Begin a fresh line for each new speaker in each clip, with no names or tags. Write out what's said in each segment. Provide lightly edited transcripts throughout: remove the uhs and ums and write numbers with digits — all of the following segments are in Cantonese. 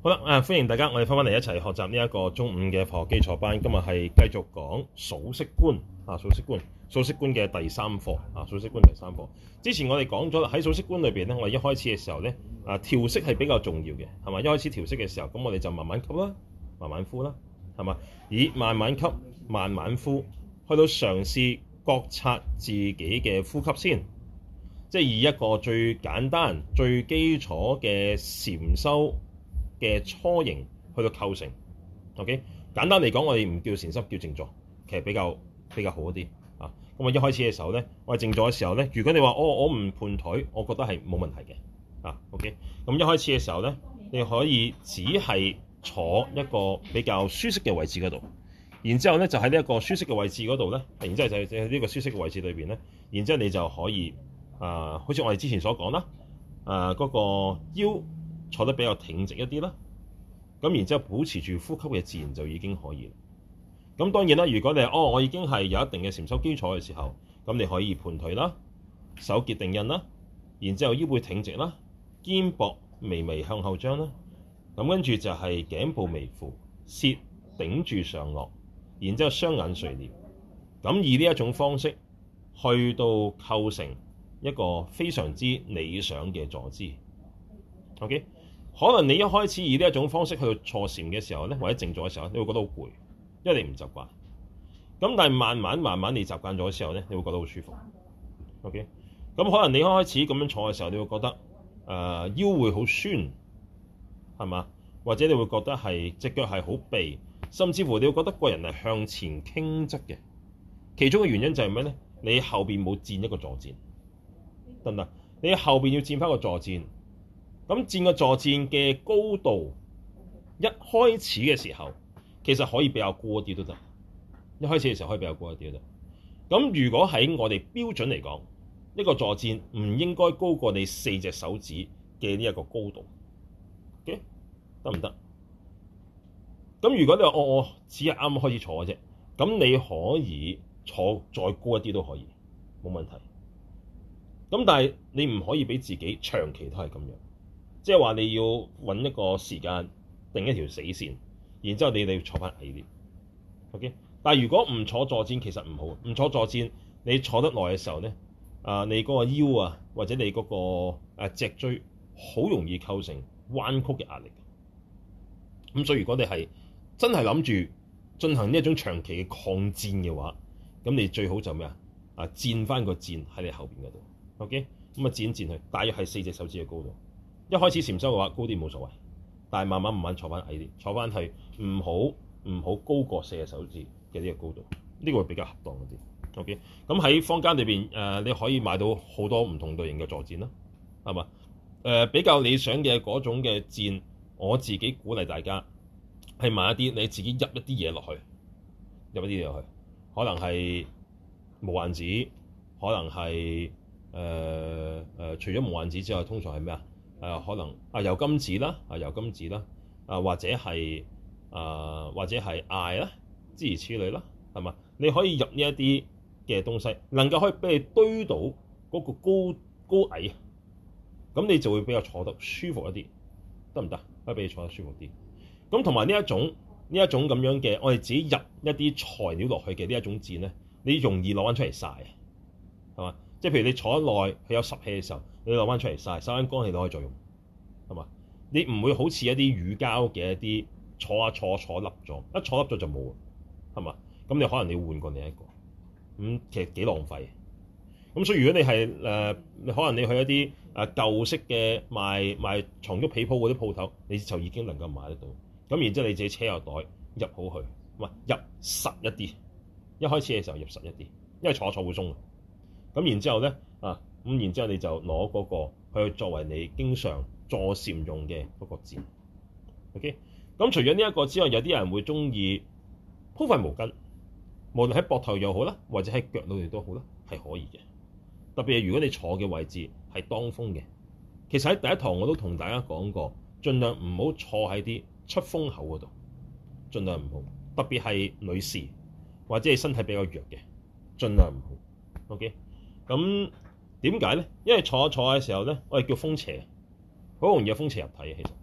好啦，歡迎大家，我哋翻返嚟一齊學習呢一個中午嘅課學基礎班。今日係繼續講數息觀數息觀嘅第三課數息觀第三課。之前我哋講咗啦，喺數息觀裏邊咧，我哋一開始嘅時候咧，調息係比較重要嘅，係嘛？一開始調息嘅時候，咁我哋就慢慢吸啦，慢慢呼啦，係嘛？以慢慢吸、慢慢呼，去到嘗試覺察自己嘅呼吸先，即係以一個最簡單、最基礎嘅禪修嘅初型去到構成。OK， 簡單嚟講，我哋唔叫禪修，叫靜坐，其實比較好一啲啊。咁我一開始嘅時候咧，我係靜坐嘅時候咧，如果你話我唔盤腿，我覺得係冇問題嘅啊。OK， 咁一開始嘅時候咧，你可以只係坐一個比較舒適嘅位置嗰度，然之後咧就喺呢一個舒適嘅位置嗰度咧，然之後就喺呢個舒適嘅位置裏邊咧，然之後你就可以好似我哋之前所講啦，嗰個腰坐得比較挺直一啲啦，咁然之後保持住呼吸嘅自然就已經可以。咁當然啦，如果你我已經係有一定嘅禪修基礎嘅時候，咁你可以盤腿啦，手結定印啦，然之後腰背挺直啦，肩膊微微向後張啦，咁跟住就係頸部微俯，舌頂住上顎，然之後雙眼垂簾，咁以呢一種方式去到構成一個非常之理想嘅坐姿。OK， 可能你一開始以呢一種方式去到坐禪嘅時候咧，或者靜坐嘅時候，你會覺得好攰，因為你唔習慣。咁但係慢慢你習慣咗嘅時候咧，你會覺得好舒服。OK， 咁可能你一開始咁樣坐嘅時候，你會覺得腰會好酸，係嘛？或者你會覺得係隻腳係好痹，甚至乎你會覺得個人係向前傾側嘅。其中嘅原因就係咩咧？你後邊冇墊一個坐墊，得唔得？你後邊要墊翻個坐墊。咁墊個坐墊嘅高度，一開始嘅時候其實可以比較高一啲都得。一開始嘅時候可以比較高一啲都得。咁如果喺我哋標準嚟講，一個坐墊唔應該高過你4隻手指嘅呢一個高度。OK， 得唔得？咁如果你話我只係啱啱開始坐嘅啫，咁你可以坐再高一啲都可以，冇問題。咁但係你唔可以俾自己長期都係咁樣。即係話你要揾一個時間定一條死線，然之後你哋坐翻矮啲。OK， 但係如果唔坐坐墊其實唔好，唔坐坐墊你坐得耐嘅時候咧，你嗰個腰啊或者你嗰個脊椎好容易構成彎曲嘅壓力。咁所以如果你係真係諗住進行呢一種長期嘅抗戰嘅話，咁你最好就咩墊翻個墊喺你後邊嗰度。OK， 咁墊去，大約係4隻手指嘅高度。一開始禪修嘅話，高啲冇所謂，但係慢慢坐翻矮啲，坐翻去唔好高過4隻手指嘅呢個高度，呢個會比較恰當一啲。OK， 咁喺坊間裏邊你可以買到好多唔同類型嘅坐墊啦，係嘛？比較理想嘅嗰種嘅墊，我自己鼓勵大家係買一啲你自己入一啲嘢落去，可能係無患子，可能係除咗無患子之外，通常係咩啊？可能油甘子啦，或者係艾啦，諸如此類啦，係嘛？你可以入呢一啲嘅東西，能夠可以俾你堆到嗰個高矮，咁你就會比較坐得舒服一啲，得唔得？可以俾你坐得舒服啲。咁同埋呢一種咁樣嘅，我哋自己入一啲材料落去嘅呢一種墊咧，你容易攞翻出嚟曬，係嘛？即係譬如你坐得耐，佢有濕氣嘅時候，你攞翻出嚟曬翻乾氣都可以再用，係嘛？你唔會好似一啲乳膠嘅一啲坐笠咗，一坐笠咗就冇，係嘛？咁你可能你要換過另一個，咁其實幾浪費。咁所以如果你係你可能你去一啲舊式嘅賣床褥被鋪嗰啲鋪頭，你就已經能夠買得到。咁然之後你自己車個袋入好去，入實一啲。一開始嘅時候入實一啲，因為坐會鬆。咁然之後咧咁然之後你就攞嗰個去作為你經常坐禪用嘅嗰個墊。OK， 咁除咗呢一個之外，有啲人會中意鋪塊毛巾，無論喺膊頭又好啦，或者喺腳度都好啦，係可以嘅。特別係如果你坐嘅位置係當風嘅，其實喺第一堂我都同大家講過，盡量唔好坐喺啲出風口嗰度，盡量唔好。特別係女士或者係身體比較弱嘅，盡量唔好。OK， 咁點解咧？因為坐嘅時候咧，我哋叫風邪，好容易有風邪入體嘅。其實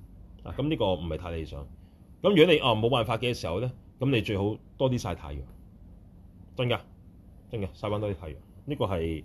啊，咁呢個唔係太理想。咁如果你冇辦法嘅時候咧，咁你最好多啲曬太陽，真㗎，真嘅曬翻多啲太陽。呢個係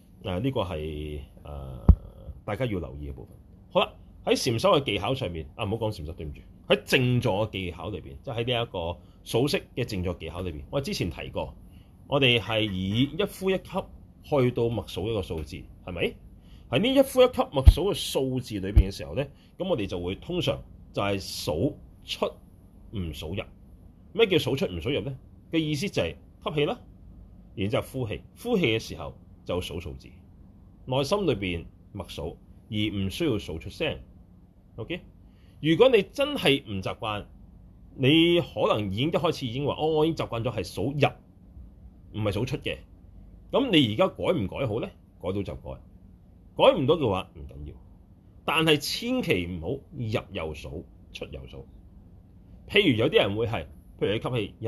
大家要留意嘅部分。好啦，喺禪修嘅技巧上面，唔好講禪修，對唔住。喺靜坐嘅技巧裏邊，即係喺呢一個數息嘅靜坐技巧裏邊，我之前提過，我哋係以一呼一吸去到默數一個數字，係咪？喺呢一呼一吸默數嘅數字裏邊嘅時候咧，咁我哋就會通常就係數出唔數入。咩叫數出唔數入咧？嘅意思就係吸氣啦，然之後呼氣，呼氣嘅時候就數數字，內心裏邊默數，而唔需要數出聲。OK， 如果你真係唔習慣，你可能已經一開始已經話，我已經習慣咗係數入，唔係數出嘅。咁你而家改唔改好咧？改到就改，改唔到嘅話唔緊要。但係千祈唔好入又數，出又數。譬如有啲人會係，譬如你吸氣一，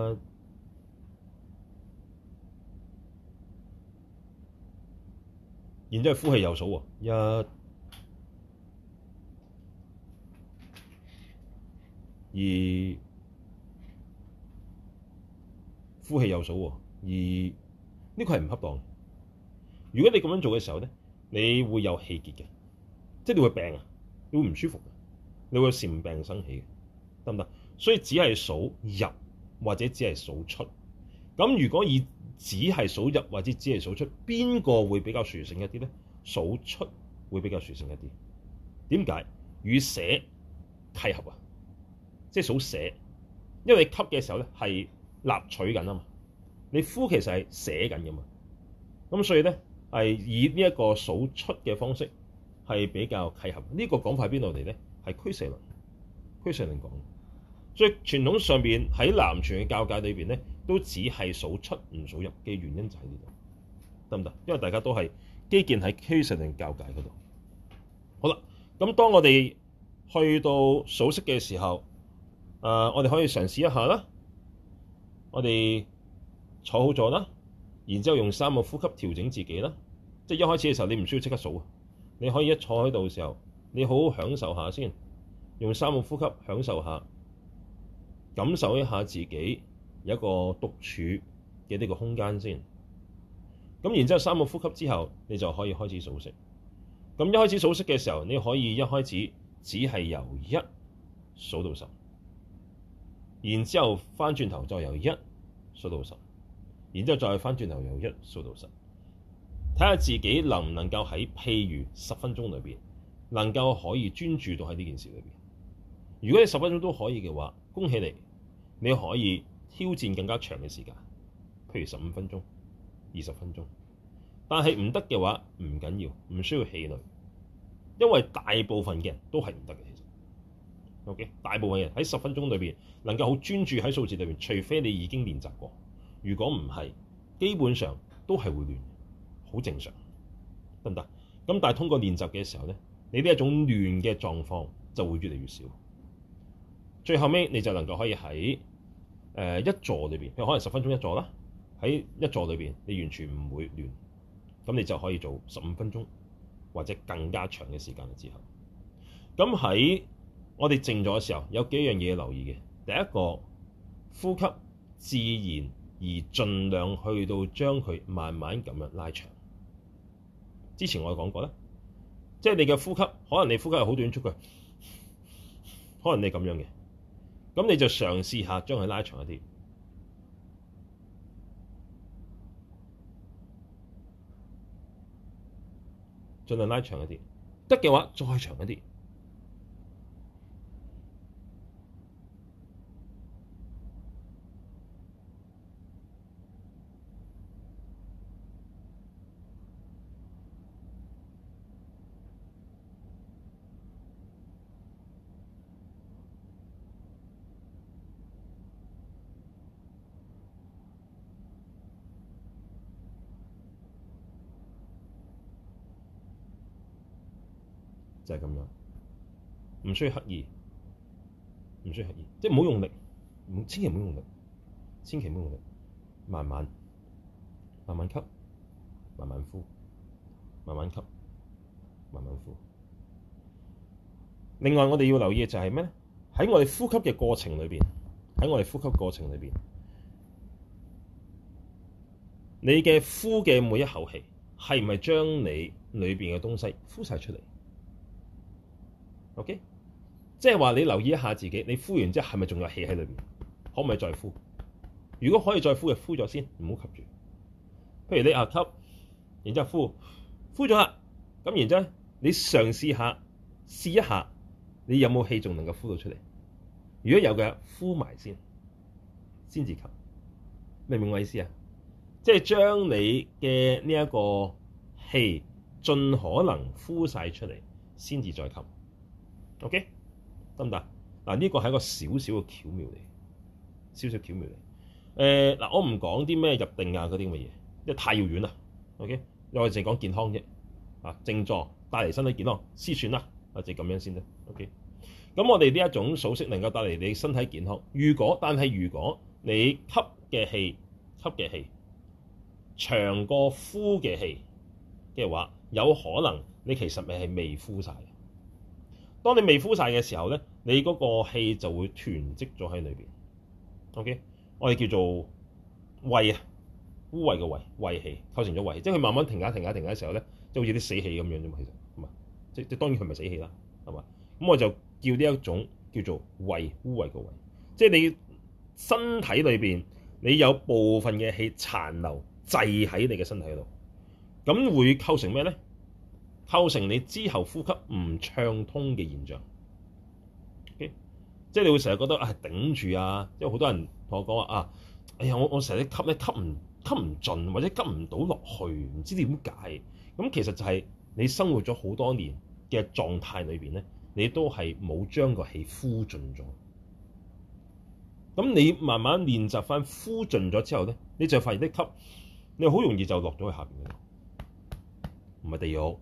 然之後呼氣又數喎，一、二，呼氣又數喎，二，呢個係唔恰當。如果你咁樣做嘅時候咧，你會有氣結嘅，即係你會病啊，你會唔舒服嘅，你會禪病生起嘅，得唔得？所以只係數入或者只係數出。咁如果以只係數入或者只係數出，邊個會比較殊勝一啲咧？數出會比較殊勝一啲。點解？與捨契合啊，即係數捨，因為你吸嘅時候咧係納取緊啊嘛，你呼其實係捨緊噶嘛。咁所以咧係以呢一個數出嘅方式係比較契合。呢個講法喺邊度嚟咧？係俱舍論，俱舍論講。所以傳統上邊喺南傳嘅教界裏邊咧，都只係數出唔數入嘅原因就喺呢度，得唔得？因為大家都係基建喺俱舍論教界嗰度。好啦，咁當我哋去到數息嘅時候，我哋可以嘗試一下啦。我哋坐好咗啦，然之後用3個呼吸調整自己啦。即係一開始嘅時候，你唔需要即刻數啊，你可以一坐喺度嘅時候，你好好享受下先，用3個呼吸享受下。感受一下自己有一個獨處嘅呢個空間先，咁然之後3個呼吸之後，你就可以開始數息。咁一開始數息嘅時候，你可以一開始只係由1數到10，然之後翻轉頭再由1數到10，然之後再翻轉頭由1數到10，睇下自己能唔能夠喺譬如10分鐘裏邊能夠可以專注到喺呢件事裏邊。如果你10分鐘都可以嘅話，恭喜你！你可以挑戰更加長嘅時間，譬如15分鐘、20分鐘。但係唔得嘅話，唔緊要，唔需要氣餒，因為大部分嘅人都係唔得嘅。其實，OK， 大部分人喺10分鐘裏邊能夠好專注喺數字裏邊，除非你已經練習過。如果唔係，基本上都係會亂，好正常，得唔得？咁但係通過練習嘅時候咧，你呢一種亂嘅狀況就會越嚟越少。最後尾你就能夠可以喺一座裏邊，譬如可能10分鐘一座啦，喺一座裏邊你完全唔會亂，咁你就可以做15分鐘或者更加長嘅時間之後。咁喺我哋靜咗嘅時候，有幾樣嘢要留意嘅。第一個，呼吸自然而盡量去到將佢慢慢咁樣拉長。之前我講過啦，即係你嘅呼吸，可能你呼吸係好短促嘅，可能你咁樣嘅。咁你就嘗試下將佢拉長一啲，盡量拉長一啲，得嘅話再長一啲。就係咁樣，唔需要刻意，唔需要刻意，即係唔好用力，千祈唔好用力，千祈唔好用力，慢慢慢慢吸，慢慢呼，慢慢吸，慢慢呼。 另外我哋要留意嘅就係咩咧？喺我哋呼吸嘅過程裏邊，你嘅呼嘅每一口氣係唔係將你裏邊嘅東西呼晒出嚟？OK，即係話你留意一下自己，你呼完之後係咪仲有氣喺裏邊？可唔可以再呼？如果可以再呼嘅，呼咗先，唔好吸住。譬如你吸，然之後呼咗啦，咁然之後你嘗試一下，你有冇氣仲能夠呼到出嚟？如果有嘅，呼埋先至吸。明唔明我意思啊？即係將你嘅呢一個氣盡可能呼晒出嚟，先至再吸。OK， 得唔得？嗱，呢個係一個少少嘅巧妙嚟，少少巧妙嚟。嗱，我唔講啲咩入定啊嗰啲咁嘅嘢，因為太遙遠啦。OK，我哋淨係講健康啫。靜坐帶嚟身體健康，先算啦。就咁樣先啦。OK，咁我哋呢一種數息能夠帶嚟你身體健康。但係如果你吸嘅氣長過呼嘅氣嘅話，有可能你其實咪係未呼晒。當你未呼晒嘅時候咧，你嗰個氣就會囤積咗喺裏邊。OK， 我哋叫做胃啊，污穢嘅胃氣構成咗胃氣，即係佢慢慢停下嘅時候咧，即係好似啲死氣咁樣啫嘛。其實係嘛，即當然佢唔係死氣啦，係嘛。咁我就叫呢一種叫做胃，污穢嘅胃，即係你身體裏邊你有部分嘅氣殘留滯喺你嘅身體度，咁會構成咩咧？構成你之後呼吸唔暢通嘅現象。Okay？即係你會成日覺得頂住啊，因為好多人同我講話哎呀我成日吸咧吸唔盡，或者吸唔到落去，唔知點解。咁其實就係你生活咗好多年嘅狀態裏邊咧，你都係冇將個氣呼盡咗。咁你慢慢練習翻呼盡咗之後咧，你就發現啲吸你好容易就落咗去下邊嗰度，唔係地獄。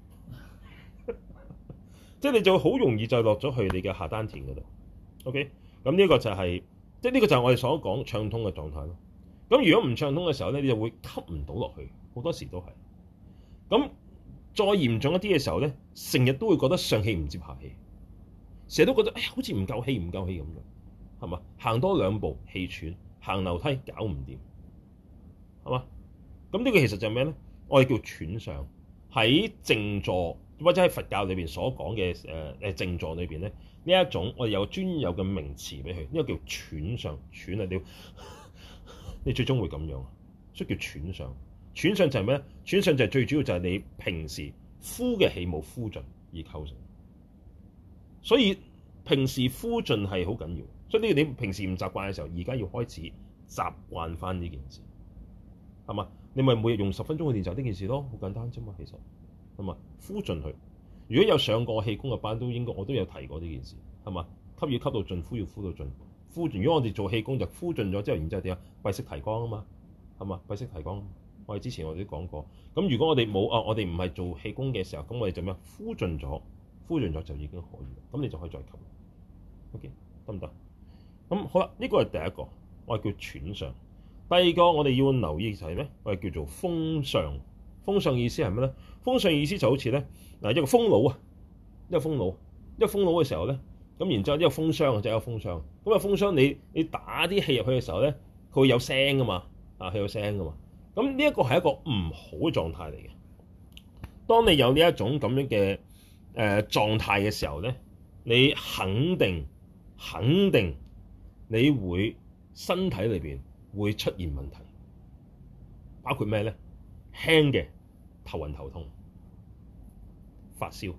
即係你就好容易就落咗去你嘅下丹田嗰度。OK， 咁呢個就係即係呢個就係我哋所講暢通嘅狀態咯。咁如果唔暢通嘅時候咧，你就會吸唔到落去，好多時都係。咁再嚴重一啲嘅時候咧，成日都會覺得上氣唔接下氣，成日都覺得好似唔夠氣咁樣，係嘛？行多兩步氣喘，行樓梯搞唔掂，係嘛？咁呢個其實就係咩咧？我哋叫喘上。喺靜坐或者喺佛教裏邊所講嘅靜坐裏邊咧，呢一種我哋有專有嘅名詞俾佢，呢個叫喘上。喘啊，你最終會咁樣，所以叫喘上。喘上就係咩咧？喘上就係最主要就係你平時呼嘅氣冇呼盡而構成，所以平時呼盡係好緊要。所以呢個你平時唔習慣嘅時候，而家要開始習慣翻呢件事，係嘛？你咪每日用10分鐘去練習呢件事咯，好簡單啫嘛。其實係嘛，呼盡佢。如果有上過氣功嘅班，我都有提過呢件事，係嘛？吸要吸到盡，呼要呼到盡。呼盡，如果我哋做氣功就呼盡咗之後，然之後點啊？閉息提光啊嘛，係嘛？閉息提光。我哋之前我哋都講過。咁如果我哋冇我哋唔係做氣功嘅時候，咁我哋就咩？呼盡咗就已經可以。咁你就可以再吸。OK， 得唔得？咁好啦，呢個係第一個，我哋叫喘上。第二個我哋要留意就係咩？我哋叫做風上。風上意思係咩咧？風上意思就好似咧一個風爐啊，一個風爐嘅時候咧，咁然之後一個風箱就係一個風箱。咁啊風箱你打啲氣入去嘅時候咧，佢會有聲噶嘛，佢有聲噶嘛。咁呢一個係一個唔好嘅狀態嚟嘅。當你有呢一種咁樣嘅狀態嘅時候咧，你肯定你會身體裏邊會出現問題，包括咩咧？輕嘅頭暈頭痛、發燒，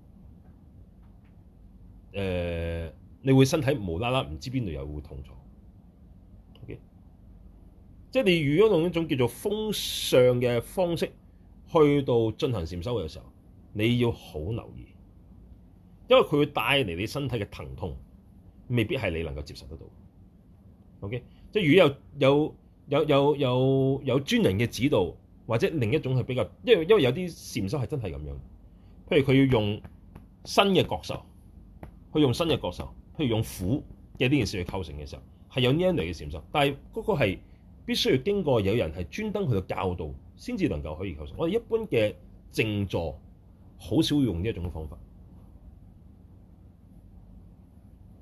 你會身體無啦啦唔知邊度又會痛咗。OK， 即係你如果用一種叫做風上嘅方式去到進行禪修嘅時候，你要好留意，因為佢會帶嚟你身體嘅疼痛，未必係你能夠接受得到。OK， 即係如果有專人嘅指導。或者另一種係比較，因為有啲禪修係真係咁樣，譬如佢要用新嘅覺受，譬如用苦嘅呢件事去構成嘅時候，係有呢一類嘅禪修，但係嗰個係必須要經過有人係專登去到教導，先至能夠可以構成。我哋一般嘅靜坐好少會用呢一種方法，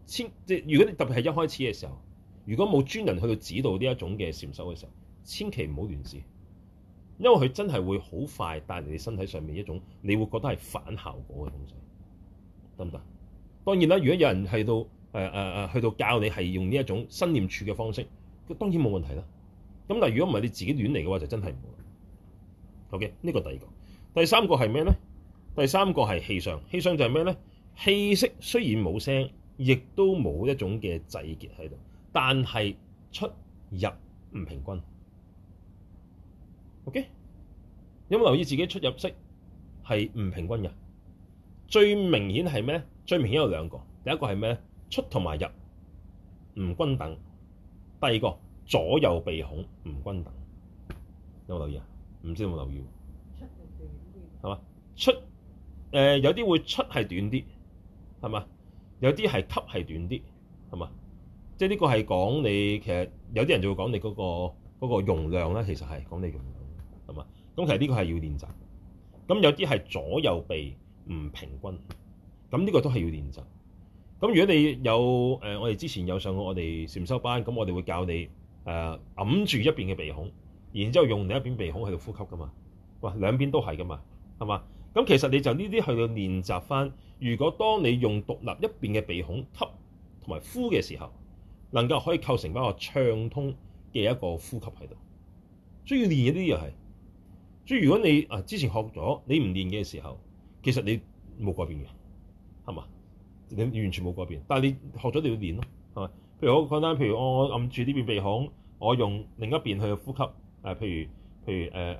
即係如果你特別係一開始嘅時候，如果冇專人去到指導呢一種嘅禪修嘅時候，千祈唔好亂試，因為佢真係會好快帶嚟你身體上面一種你會覺得係反效果嘅東西，得唔得？當然啦，如果有人係到去到教你係用呢一種身念處嘅方式，當然冇問題啦。咁但係如果唔係你自己亂嚟嘅話，就真係唔好。OK， 呢個第二個，第三個係咩咧？第三個係氣相，氣相就係咩咧？氣息雖然冇聲，亦都冇一種嘅滯結喺度，但係出入唔平均。OK， 有冇留意自己出入息係唔平均嘅？最明顯係咩？最明顯有兩個，第一個係咩？出同埋入唔均等，第二個左右鼻孔唔均等。有冇留意啊？唔知有冇留意？係嘛？出有啲會出係短啲，係嘛？有啲係吸係短啲，係嘛？即係呢個係講你其實有啲人就會講你嗰個容量啦，其實係講你容量，係嘛？咁其實呢個係要練習。咁有啲係左右鼻唔平均，咁呢個都係要練習。咁如果你有我哋之前有上過我哋禪修班，咁我哋會教你揞住一邊嘅鼻孔，然之後用另一邊鼻孔喺度呼吸噶嘛。哇，兩邊都係噶嘛，係嘛？咁其實你就呢啲去到練習翻。如果當你用獨立一邊嘅鼻孔吸同埋呼嘅時候，能夠可以構成一個暢通嘅一個呼吸喺度。所以要練呢啲又係。所以如果你之前學咗，你唔練嘅時候，其實你冇改變嘅，係嘛？你完全冇改變。但係你學咗，你要練咯，係嘛？譬如好簡單，譬如我揞住呢邊鼻孔，我用另一邊去呼吸，譬如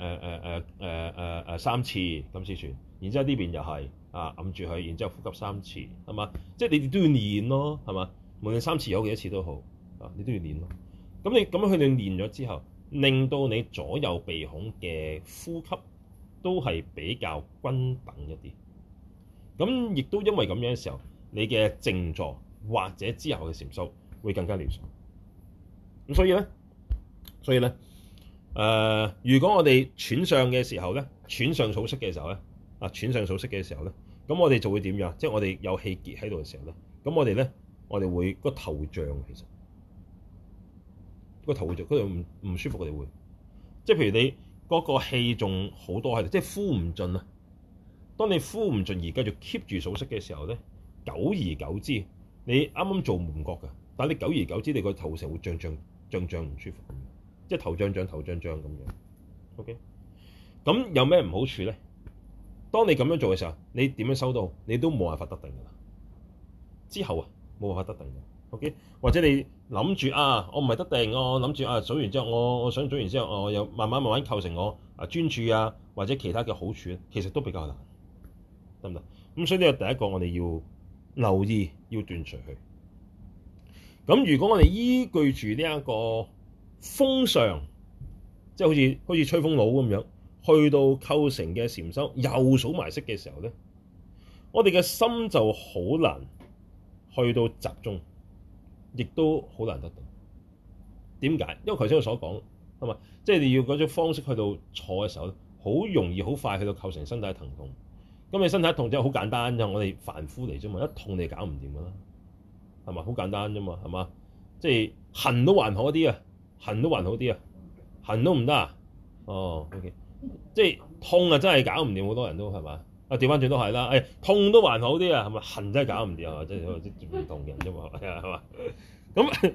3次咁先算。然之後呢邊又係揞住佢，然之後呼吸3次，係嘛？即係你哋都要練咯，係嘛？無論3次有幾多次都好，你都要練咯。咁你咁樣去練咗之後，令到你左右鼻孔嘅呼吸都係比較均等一啲。咁亦都因為咁樣嘅時候，你嘅靜坐或者之後嘅禪修會更加理想。咁所以咧，如果我哋喘上嘅時候咧，喘上數息嘅時候咧，喘上數息嘅時候咧，咁我哋就會點樣？即係我哋有氣結喺度嘅時候咧，咁我哋會個頭脹，其實個頭會脹，嗰度唔舒服，我哋會，即係譬如你嗰個氣仲好多喺度，即係呼唔盡啊。當你呼唔盡而繼續 keep 住數息嘅時候咧，久而久之，你啱啱做唔覺㗎，但係你久而久之，你個頭成會脹唔舒服，即係頭脹咁樣。OK， 咁有咩唔好處咧？當你咁樣做嘅時候，你點樣收到，你都冇辦法得定㗎啦。之後冇辦法得定嘅。OK， 或者你諗住我唔係得定，我諗住數完之後，我想數完之後，我又慢慢構成我專注或者其他嘅好處，其實都比較難，得唔得？咁所以呢個第一個我哋要留意，要斷除佢。咁如果我哋依據住呢一個風上，即係好似吹風佬咁樣，去到構成嘅禪修又數埋息嘅時候咧，我哋嘅心就好難去到集中，亦都好難得定。點解？因為頭先我所講係嘛，即係你要嗰種方式去到坐嘅時候咧，好容易好快去到構成身體疼痛。咁你身體痛就好簡單啫，我哋凡夫嚟啫嘛，一痛你搞唔掂噶啦，係嘛？好簡單啫嘛，係嘛？即係痕都還好啲啊，痕都唔得啊。哦 ，OK， 即係痛真係搞唔掂，好多人都係嘛？調翻轉都係啦，痛都還好啲啊，係咪？痕真係搞唔掂啊，即係唔同人啫嘛，係嘛？咁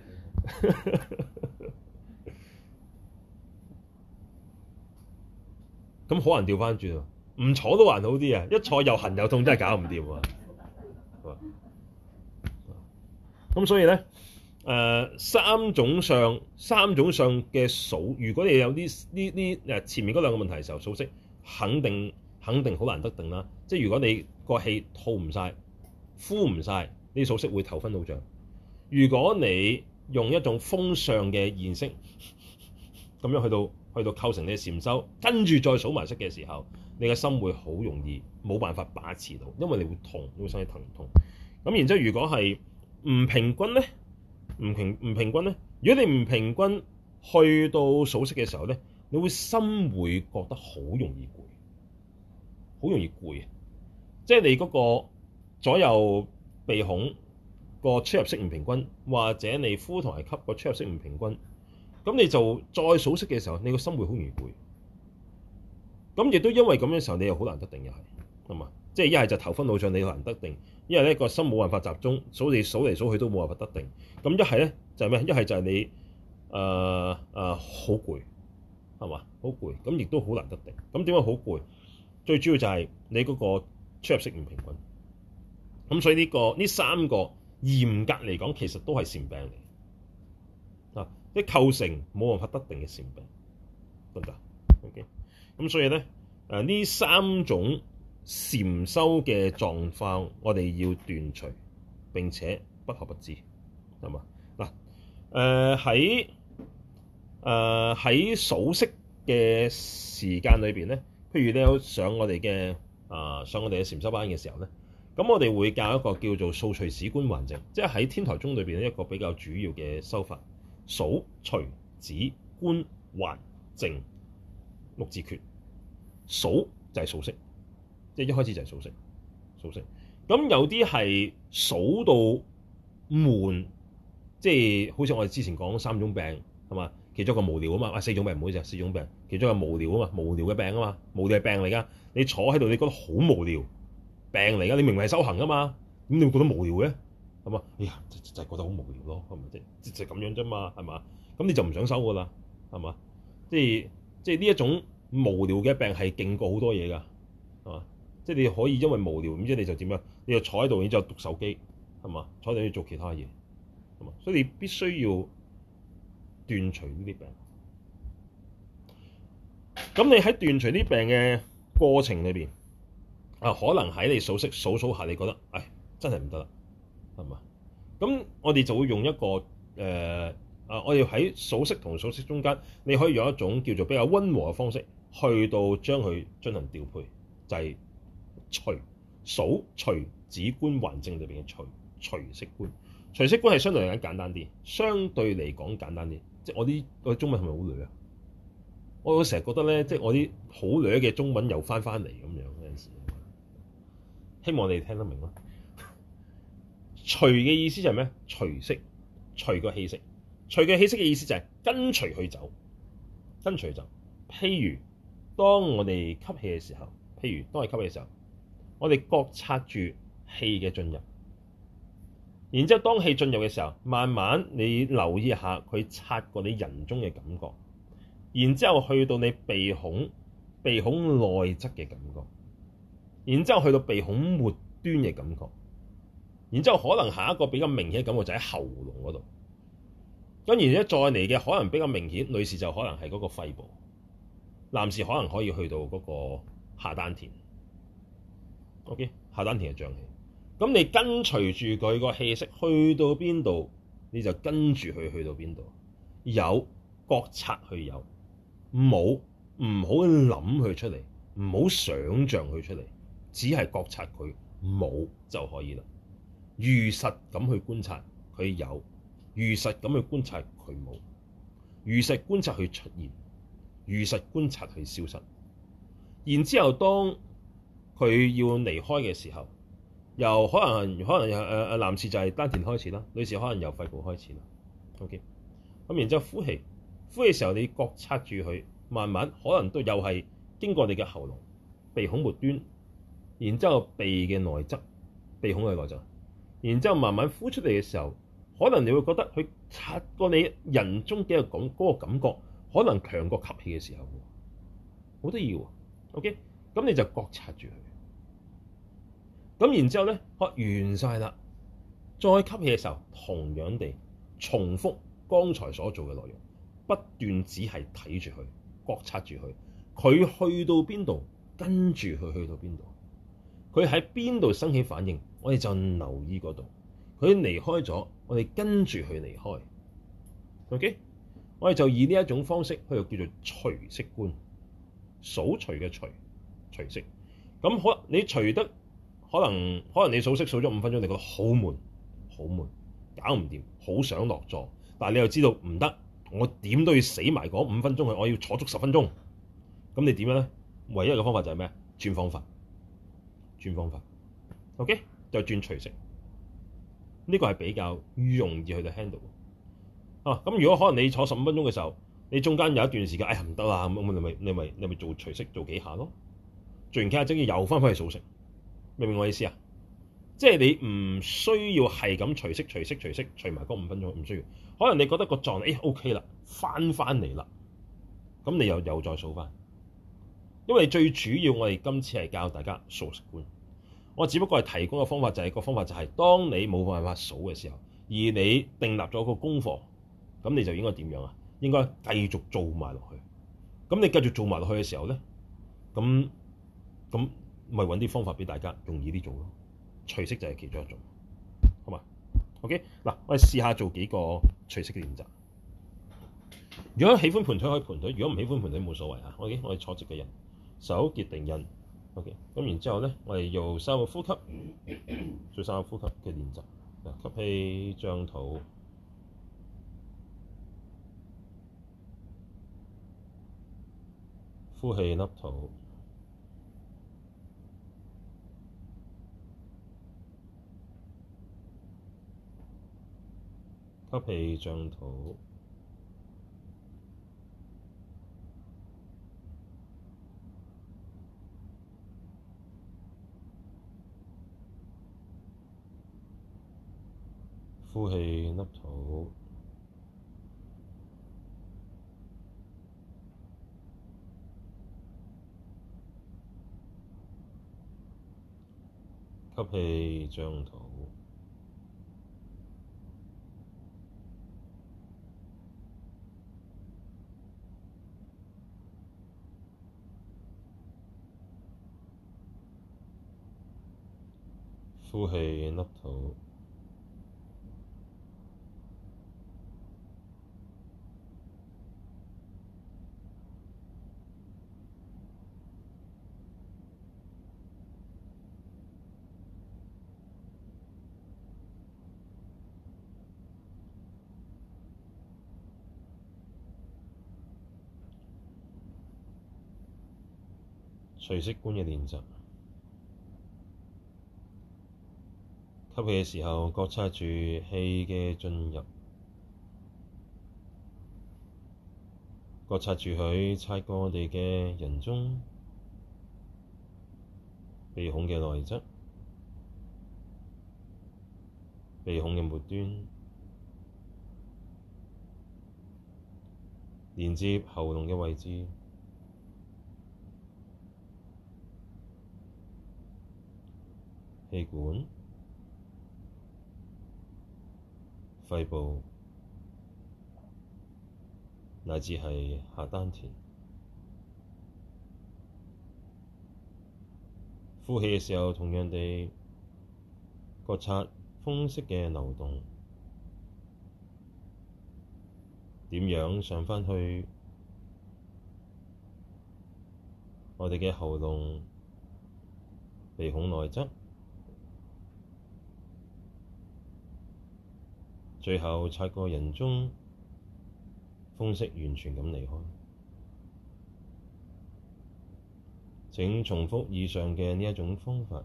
咁可能調翻轉啊，唔坐都還好啲啊，一坐又痕又痛，真係搞唔掂啊！咁所以咧，三種相嘅數，如果你有呢前面嗰兩個問題嘅時候，數息肯定好難得定啦。即係如果你個氣吐唔晒、呼唔晒，呢數息會頭昏腦脹。如果你用一種風相嘅現式咁樣去到構成你嘅禪修，跟住再數埋息嘅時候，你嘅心會好容易冇辦法把持到，因為你會痛，你會身體疼痛。咁然之後，如果係唔平均咧，唔平均咧，如果你唔平均去到數息嘅時候咧，你會心會覺得好容易攰，好容易攰啊！即係你嗰個左右鼻孔個出入息唔平均，或者你呼同埋吸個出入息唔平均，咁你就再數息嘅時候，你個心會好容易攰。咁亦都因為咁嘅時候，你又好難得定，又係嘛？即係一係就頭昏腦脹，你好難得定；一係咧個心冇辦法集中，數嚟數去都冇辦法得定。咁一係咧就係咩？一係就係你好攰，係嘛？好攰，咁亦都好難得定。咁點解好攰？最主要就係你嗰個出入息唔平均。咁所以呢三個嚴格嚟講，其實都係禪病嚟啊！即係構成冇辦法得定嘅禪病，得唔得 ？OK。咁所以咧，呢三種禪修嘅狀況，我哋要斷除，並且不可不知，係嘛？嗱，喺數息嘅時間裏邊咧，譬如你有上我哋嘅禪修班嘅時候咧，咁我哋會教一個叫做數隨止觀還淨，即係喺天台宗裏邊一個比較主要嘅修法，數隨止觀還淨六字訣。數就係數息，即係一開始就係數息。咁有啲係數到悶，即係好似我哋之前講三種病係嘛，其中一個無聊啊嘛，四種病唔好意思，四種病，其中一個無聊啊嘛，無聊嘅病啊嘛，無聊係病嚟㗎。你坐喺度，你覺得好無聊，病嚟㗎。你明明係修行㗎嘛，咁你會覺得無聊嘅係嘛？哎呀，就係覺得好無聊咯，係咪就咁樣啫嘛，係嘛？咁你就唔想修㗎啦，係嘛？即係呢一種。無聊嘅病係勁過好多嘢㗎，係嘛？即係你可以因為無聊，唔知你就點樣？你就坐喺度，然之後讀手機，係嘛？坐喺度要做其他嘢，係嘛？所以你必須要斷除呢啲病。咁你喺斷除呢啲病嘅過程裏邊，可能喺你數息數下，你覺得，唉，真係唔得啦，係嘛？咁我哋就會用一個我哋喺數息同數息中間，你可以用一種叫做比較溫和嘅方式，去到將佢進行調配，就係數隨止觀還淨裏邊嘅隨息觀。隨息觀係相對嚟講簡單啲，相對嚟講簡單啲。即係我啲中文係咪好亂啊？我成日覺得咧，即係我啲好亂嘅中文又翻嚟咁樣有陣時。希望你哋聽得明啦。隨嘅意思就係咩？隨息，隨個氣息。隨嘅氣息嘅意思就係跟隨去走，跟隨走。譬如當我哋吸氣嘅時候，我哋覺察住氣嘅進入，然之後當氣進入嘅時候，慢慢你留意一下佢擦過你人中嘅感覺，然之後去到你鼻孔內側嘅感覺，然之後去到鼻孔末端嘅感覺，然之後可能下一個比較明顯嘅感覺就喺喉嚨嗰度。咁然之後再嚟嘅可能比較明顯，女士就可能係嗰個肺部，男士可能可以去到嗰個下丹田。OK， 下丹田嘅脹氣。咁你跟隨住佢個氣息去到邊度，你就跟住佢去到邊度。有覺察去有，冇唔好諗佢出嚟，唔好想像佢出嚟，只係覺察佢冇就可以啦。如實咁去觀察佢有。如實咁去觀察佢冇，如實觀察佢出現，如實觀察佢消失。然之後當佢要離開嘅時候，由可能男士就係丹田開始啦，女士可能由肺部開始啦。OK， 咁然之後呼氣嘅時候，你覺察住佢，慢慢可能都又係經過你嘅喉嚨、鼻孔末端，然之後鼻嘅內側、鼻孔嘅內側，然之後慢慢呼出嚟嘅時候。可能你會覺得佢擦過你人中嘅嗰個感覺，可能強過吸氣嘅時候，好得意喎。OK， 咁你就覺察住佢。咁然之後咧，完晒啦，再吸氣嘅時候，同樣地重複剛才所做嘅內容，不斷只係睇住佢，覺察住佢。佢去到邊度，跟住佢去到邊度。佢喺邊度生起反應，我哋就留意嗰度。佢離開咗，我哋跟住佢離開。OK， 我哋就以呢一種方式去叫做隨息觀，數隨嘅隨息。咁你隨得可能你數息數咗5分鐘，你覺得好悶，搞唔掂，好想落座。但係你又知道唔得，我點都要死埋嗰5分鐘去，我要坐足10分鐘。咁你點樣咧？唯一嘅方法就係咩？轉方法。OK， 就轉隨息。 呢個係比較容易去到 handle 啊。咁如果可能你坐15分鐘嘅時候，你中間有一段時間，哎呀唔得啦，咁你咪做隨息做幾下咯，做完幾下之後又翻返去數息，明唔明我意思啊？即係你唔需要係咁隨埋嗰5分鐘，唔需要。可能你覺得個狀態OK 啦，翻嚟啦，咁你又再數翻。因為最主要我哋今次係教大家數息觀，我只不過係提供嘅方法就係、當你冇辦法數嘅時候，而你訂立咗個功課，咁你就應該點樣啊？應該繼續做埋落去。咁你繼續做埋落去嘅時候咧，咁咪揾啲方法俾大家容易啲做咯。隨息就係其中一種，好嘛？OK，嗱，我哋試下做幾個隨息嘅練習。如果喜歡盤腿可以盤腿，如果唔喜歡盤腿冇所謂啊。OK，我哋坐直嘅人，手結定印。OK，咁然之後咧，我哋用3個呼吸，做3個呼吸嘅練習。吸氣張肚，呼氣凹肚。吸氣張肚，呼氣凹肚，吸氣張肚，呼氣凹肚，隨息觀嘅練習。吸氣嘅時候，覺察住氣嘅進入，覺察住佢擦過我哋嘅人中、鼻孔嘅內側、鼻孔嘅末端，連接喉嚨嘅位置。氣管、肺部，乃至係下丹田。呼氣嘅時候，同樣地覺察風息嘅流動，點樣上返去我哋嘅喉嚨、鼻孔內側，最後擦過人中，風息完全咁離開。請重複以上嘅呢一種方法，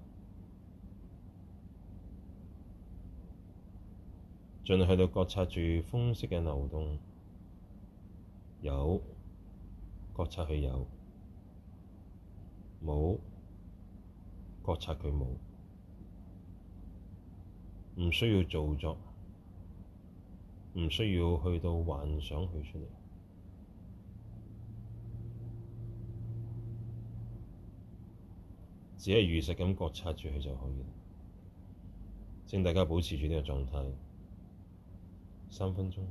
盡去到覺察住風息嘅流動，有覺察佢有，冇覺察佢冇，唔需要造作。唔需要去到幻想佢出嚟，只係如實咁覺察住佢就可以。請大家保持住呢個狀態3分鐘。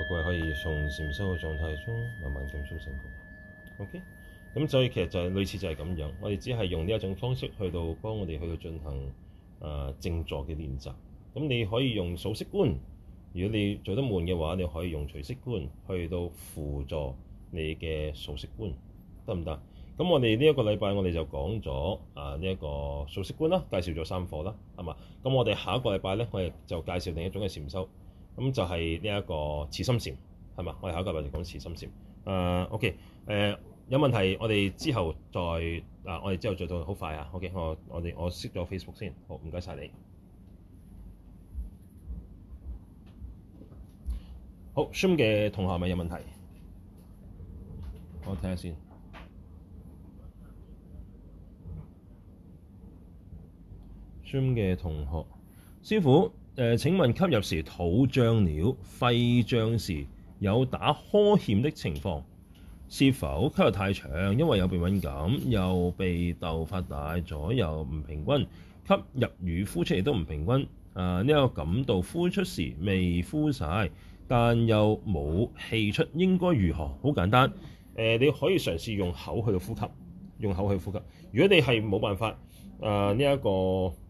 各位可以從禪修嘅狀態中慢慢咁甦醒過來。OK，咁所以其實就係類似就係咁樣，我哋只係用呢一種方式去到幫我哋去到進行靜坐嘅練習。咁你可以用數息觀，如果你做得悶嘅話，你可以用隨息觀去到輔助你嘅數息觀，得唔得？咁我哋呢一個禮拜我哋就講咗呢一個數息觀啦，介紹咗3課啦，係嘛？咁我哋下一個禮拜咧，我哋就介紹另一種嘅禪修，咁就係呢一個慈心禪，係嘛？我哋下一個禮拜就講慈心禪。OK，有問題我哋之後再我哋之後再到好快啊。OK，我熄咗 Facebook 先，好，唔該晒你。好 Zoom 嘅同學係咪有問題？我睇下先。Zoom 嘅同學，師父，請問吸入時肚脹了、肺脹時有打呵欠的情況，是否吸入太長？因為有鼻敏感，右鼻竇發大，左右唔平均，吸入與呼出亦都唔平均。呢個感到呼出時未呼晒，但又冇氣出，應該如何？好簡單，你可以嘗試用口去呼吸，用口去呼吸。如果你係冇辦法呢一個